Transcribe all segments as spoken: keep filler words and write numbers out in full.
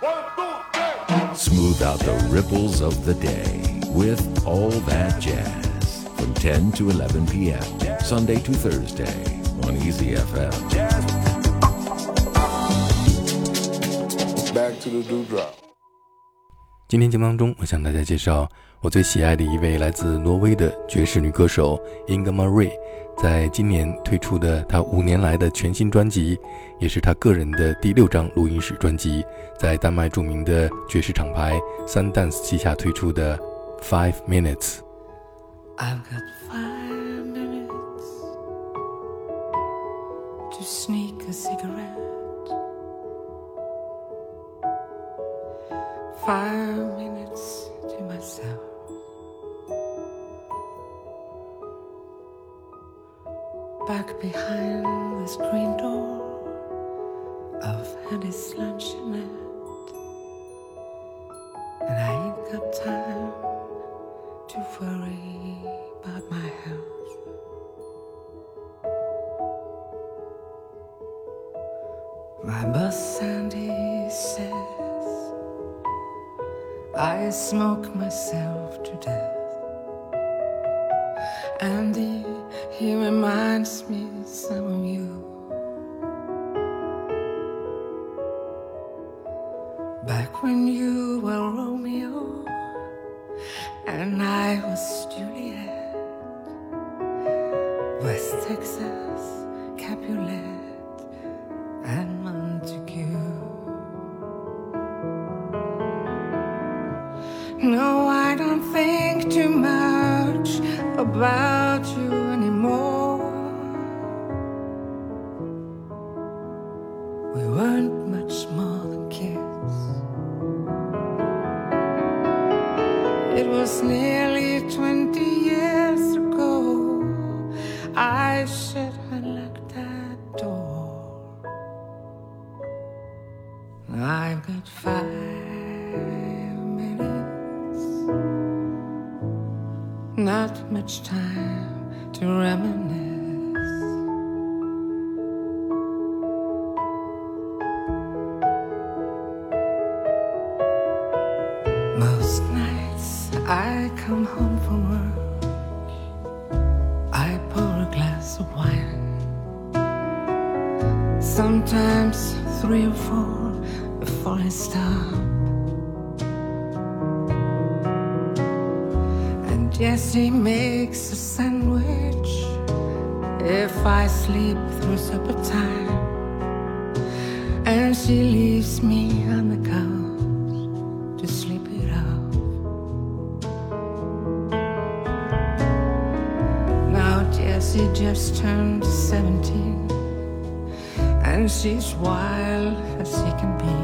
Smooth out the ripples of the day with All That Jazz from ten to eleven p.m. Sunday to Thursday on Easy F M. Back to the dewdrop. 今天节目当中，我向大家介绍我最喜爱的一位来自挪威的爵士女歌手 Inga Marie， 在今年推出的她五年来的全新专辑，也是她个人的第六张录音室专辑，在丹麦著名的爵士厂牌 Sundance 旗下推出的 Five Minutes。 I've got five minutes to sneak a cigarette.Five minutes to myself. Back behind the screen door of Eddie's luncheonette, and I ain't got time to worry about my health. My boss Sandy says I smoke myself to death, and he, he reminds me some of you. Back when you were Romeo and I was Juliet, West Texas, Capulet and Montague.No, I don't think too much about you anymore. We weren't much more than kids. It was nearly twenty years ago I shut and locked that door. I've got five.Not much time to reminisce. Most nights I come home from work, I pour a glass of wine, sometimes three or four before I stop.Jessie makes a sandwich if I sleep through supper time, and she leaves me on the couch to sleep it off. Now Jessie just turned seventeen, and she's wild as she can be,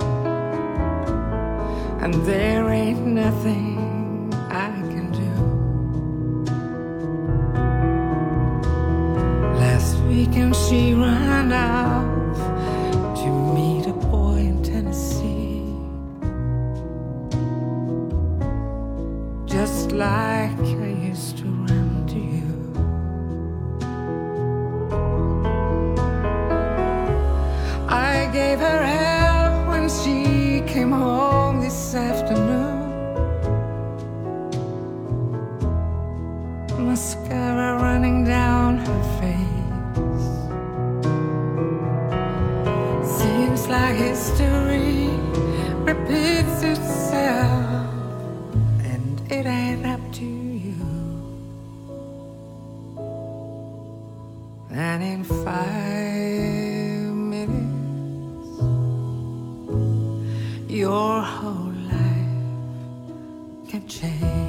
and there ain't nothing I can do.And she ran off to meet a boy in Tennessee, just like I used to run to you. I gave her hell when she came home this afternoon, mascara running down her face.Like history repeats itself, and it ain't up to you. And in five minutes, your whole life can change.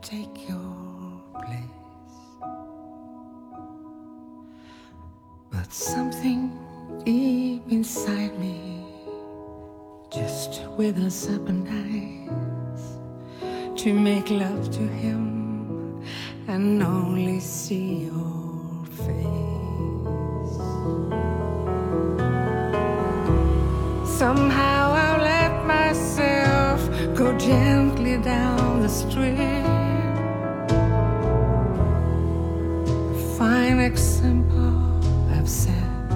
take your place. But something deep inside me just withers up and dies to make love to him and only see your face. Somehow I'll let myself go gently down the street, a fine example I've set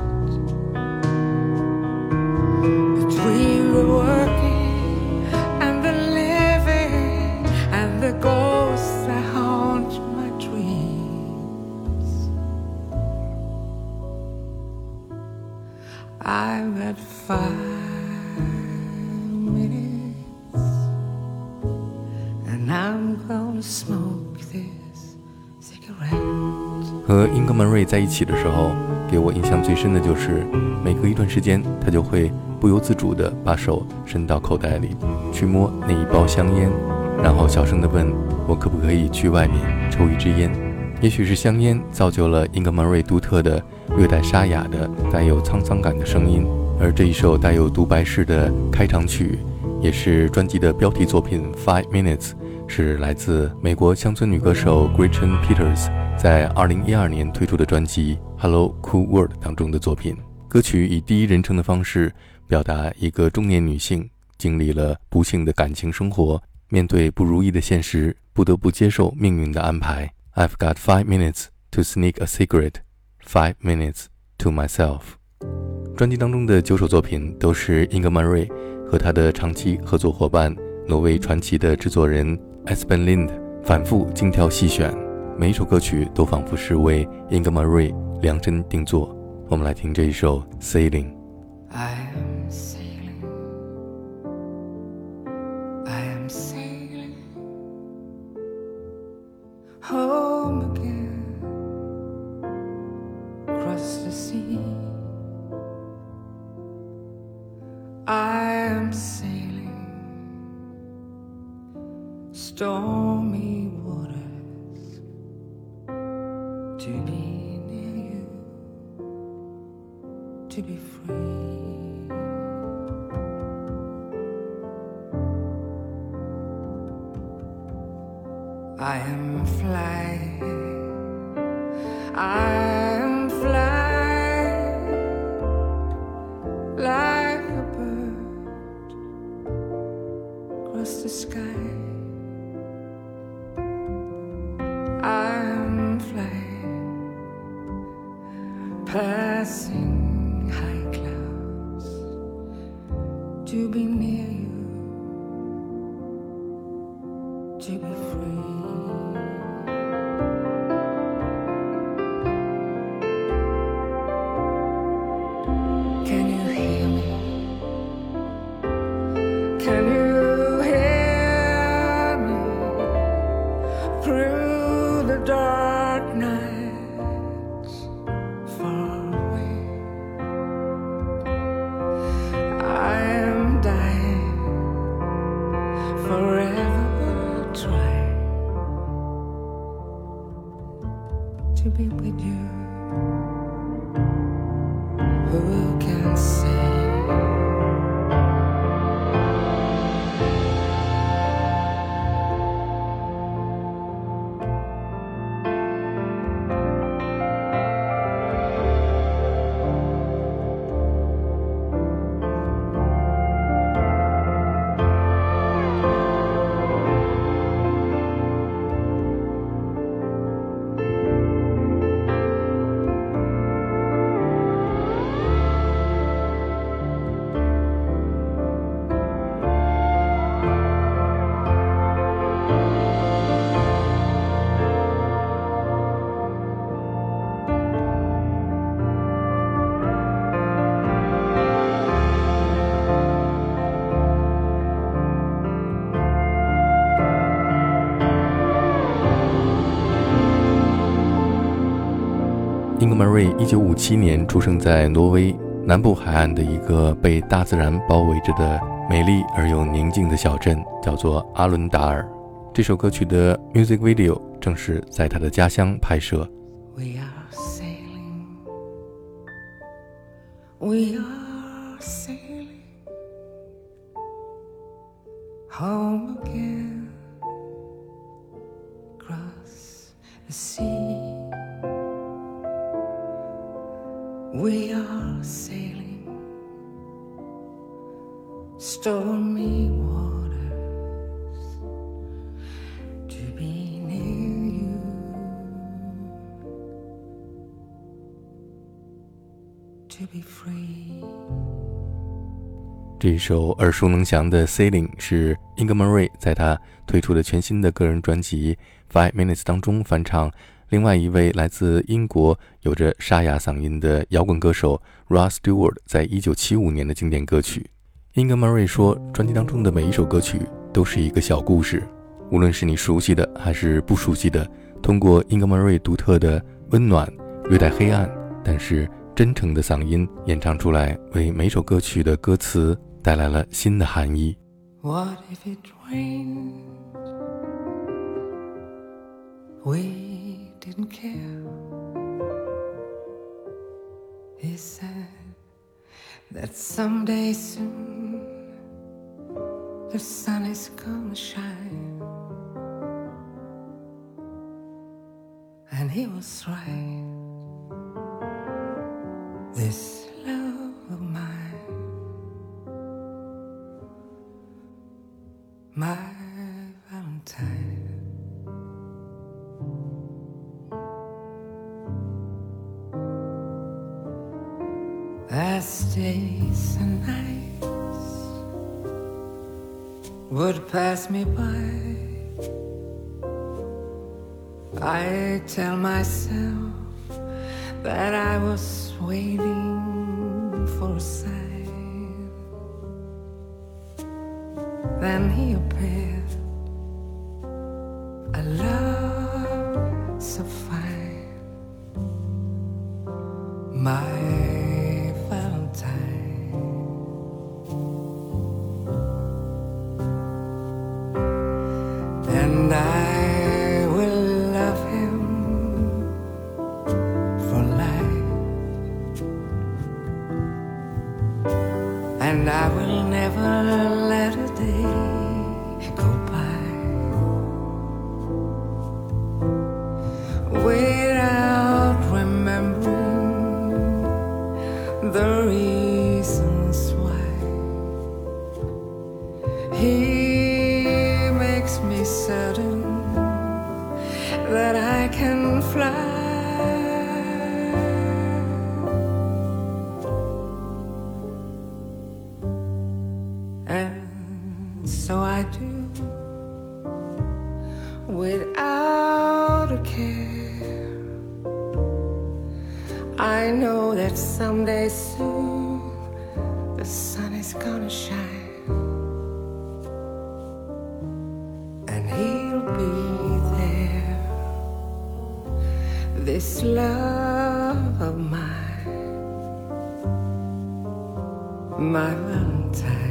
between the working and the living and the ghosts that haunt my dreams. I've had five smoke this cigarette. 和英格曼瑞在一起的时候，给我印象最深的就是每隔一段时间他就会不由自主地把手伸到口袋里去摸那一包香烟，然后小声地问我可不可以去外面抽一支烟。也许是香烟造就了英格曼瑞独特的略带沙哑的带有沧桑感的声音，而这一首带有独白式的开场曲也是专辑的标题作品 Five Minutes，是来自美国乡村女歌手 Gretchen Peters 在二零一二年推出的专辑 Hello Cool World 当中的作品。歌曲以第一人称的方式表达一个中年女性经历了不幸的感情生活，面对不如意的现实，不得不接受命运的安排。 I've got five minutes to sneak a cigarette, five minutes to myself。 专辑当中的九首作品都是英格曼瑞和他的长期合作伙伴挪威传奇的制作人 Espen Lind 反复精挑细选，每一首歌曲都仿佛是为英格曼瑞量身定做。我们来听这一首 Sailing。 I am sailing, I am sailing home again, across the sea. I am sailing stormy waters to be near you, to be free. I am flying, I am flying like a bird across the sky. I'm flying, passing high clouds to be near you, to be free. Can you hear me? Can you hear me through the dark nights far away? I am dying, forever trying to be with you. Who can say? 英格曼瑞一九五七年出生在挪威南部海岸的一个被大自然包围着的美丽而又宁静的小镇，叫做阿伦达尔。 这首歌曲的 music video 正是在他的家乡拍摄。 We are sailing, we are sailing home again, across the sea. We are sailing stormy waters to be near you, to be free. 这一首耳熟能详的 Sailing 是 Inga-maree Ray 在他推出的全新的个人专辑 Five Minutes 当中翻唱另外一位来自英国有着沙哑嗓音的摇滚歌手 Rod Stewart 在一九七五年的经典歌曲。 Inga-maree Ray 说，专辑当中的每一首歌曲都是一个小故事，无论是你熟悉的还是不熟悉的，通过 Inga-maree Ray 独特的温暖略带黑暗但是真诚的嗓音演唱出来，为每首歌曲的歌词带来了新的含义。 What if it rained? We didn't care. He said that someday soon the sun is gonna shine, and he was right. This love of mine, my Valentine. As days and nights would pass me by, I tell myself that I was waiting for a sign. Then he appeared, a love so fine, my and I will love him for life, and I will never let a day go by without remembering the reasons why he me certain that I can fly, and so I do without a care. I know that someday soon the sun is gonna shine, this love of mine, my Valentine.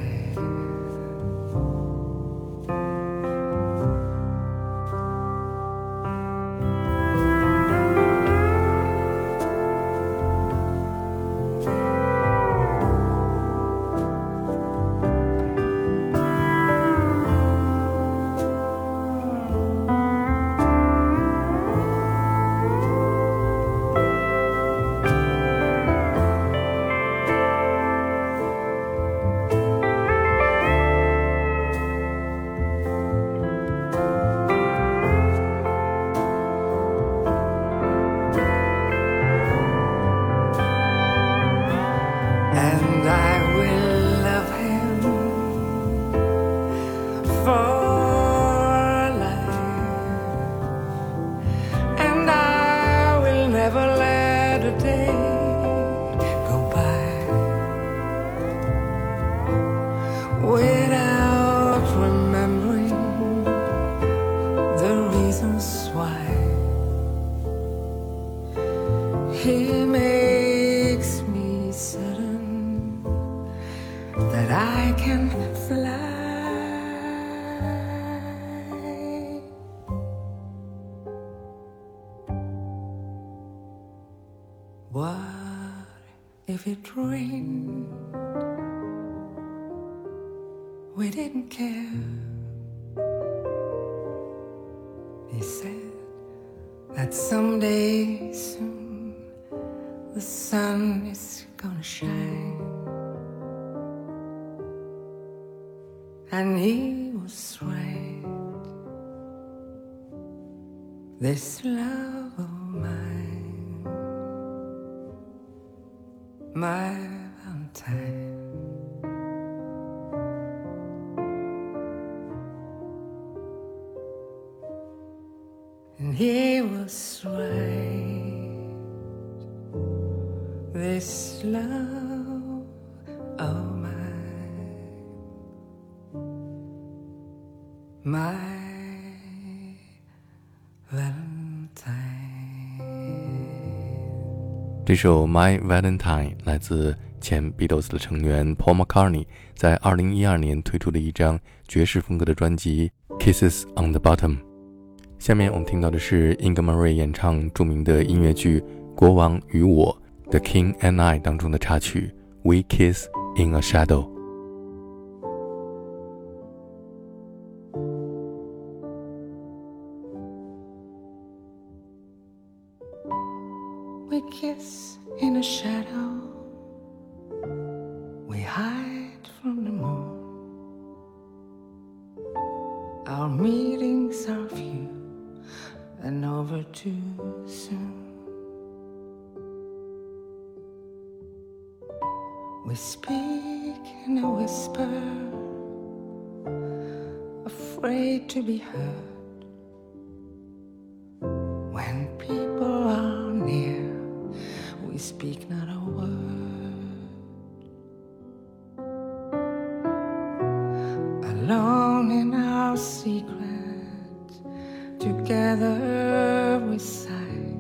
He makes me certain that I can fly. if it rained, we didn't care. He said that someday soon the sun is gonna shine, and he was right. This love of mine, my Valentine, and he was right. This love of mine, my Valentine。 这首 My Valentine 来自前 Beatles 的成员 Paul McCartney 在二零一二年推出的一张爵士风格的专辑 Kisses on the Bottom。 下面我们听到的是 Inga-Marie Ray 演唱著名的音乐剧《国王与我》 The King and I 当中的插曲 We Kiss in a Shadow。 We kiss in a shadow, we hide from the moon. Our meetings are few and over too soon. We speak in a whisper, afraid to be heard. When people are near, we speak not a word. Alone in our secret, together we sigh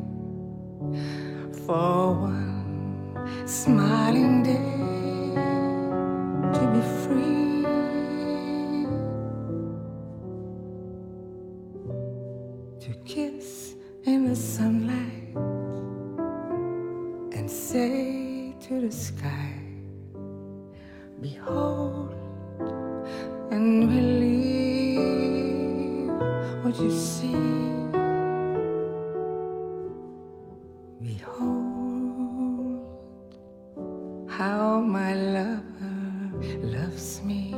for one smiling day to be free, to kiss in the sunlight and say to the sky, behold and believe what you see. Behold how my lover loves me.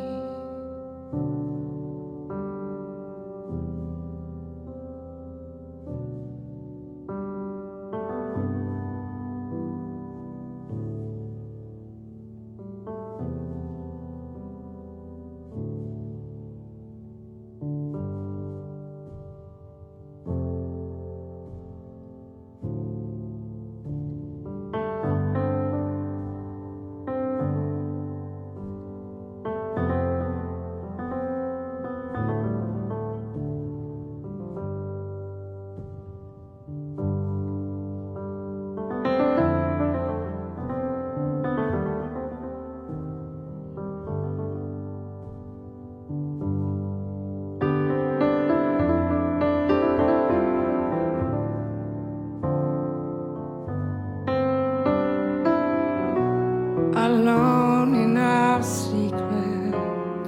Alone in our secret,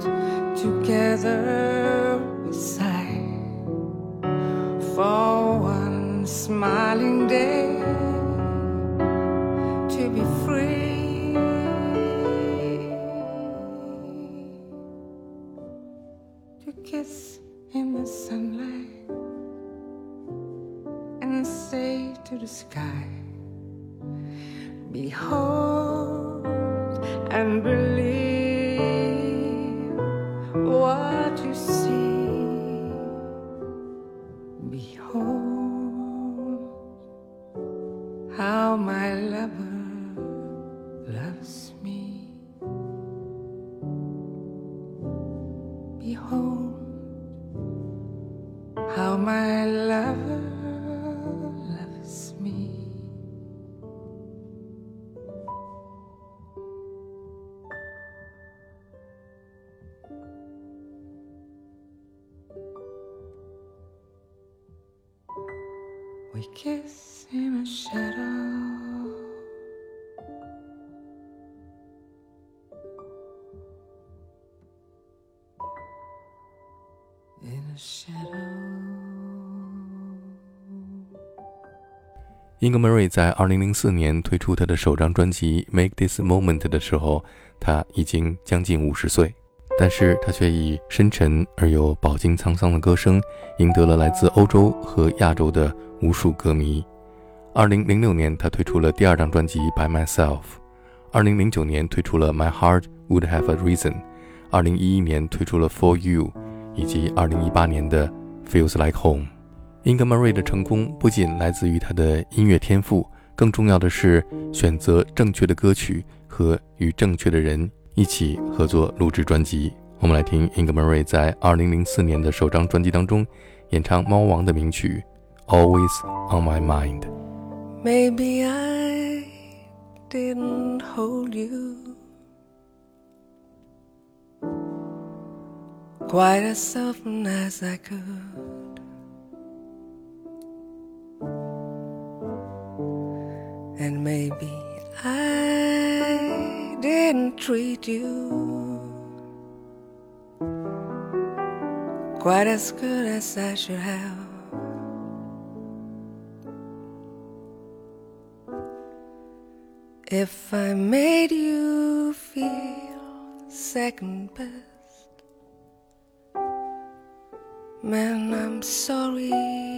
together we sigh for one smiling day to be free, to kiss in the sunlight and say to the sky, behold and believe what you see. Behold how my lover loves me. Behold how my lover loves me. We kiss in a shadow, 英格 Murray 在二零零四年推出他的首张专辑 Make This Moment 的时候，他已经将近五十岁，但是他却以深沉而又饱经沧桑的歌声赢得了来自欧洲和亚洲的无数歌迷。二零零六年他推出了第二张专辑 By Myself， 二零零九年推出了 My Heart Would Have a Reason， 二零一一年推出了 For You， 以及二零一八年的 Feels Like Home。英格 Murray 的成功不仅来自于他的音乐天赋，更重要的是选择正确的歌曲和与正确的人一起合作录制专辑。我们来听英格 Murray 在二零零四年的首张专辑当中演唱猫王的名曲 Always on My Mind。 Maybe I didn't hold you quite as often as I could.And maybe I didn't treat you quite as good as I should have. If I made you feel second best, man, I'm sorry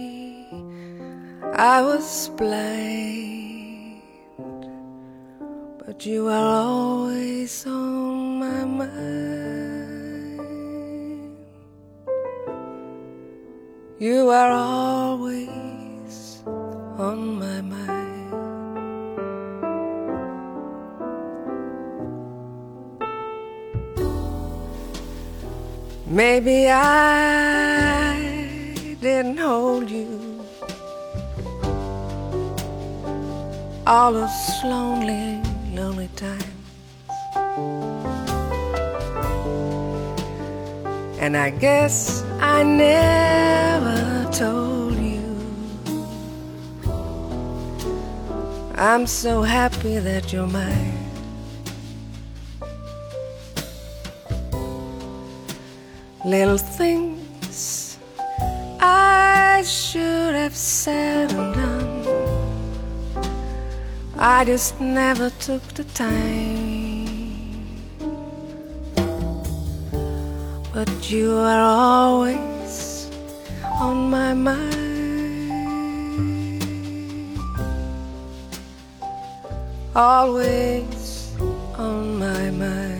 I was blind.But you are always on my mind. You are always on my mind. Maybe I didn't hold you all those lonely lonely times, and I guess I never told you I'm so happy that you're mine. Little things I should have said and done, I just never took the time. But you are always on my mind. Always on my mind.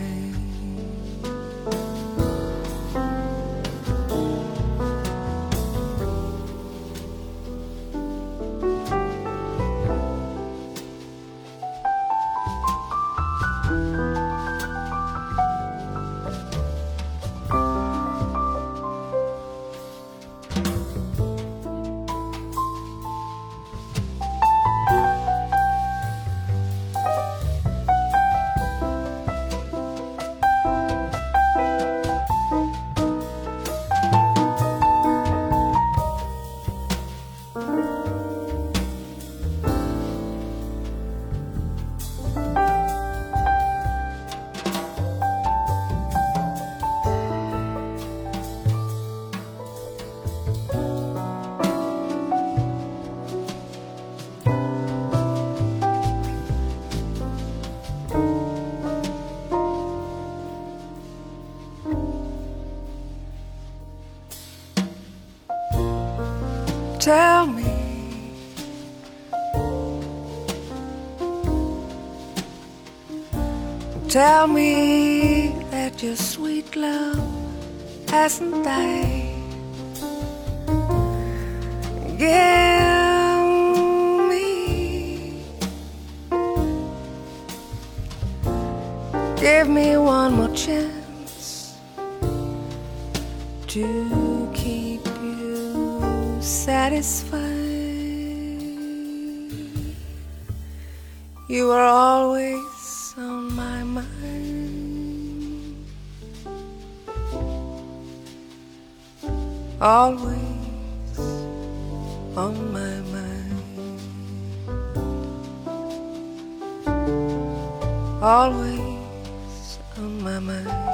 Tell me, tell me that your sweet love hasn't died. Give me, give me one more chance to keep you satisfied. You are always on my mind, always on my mind, always on my mind.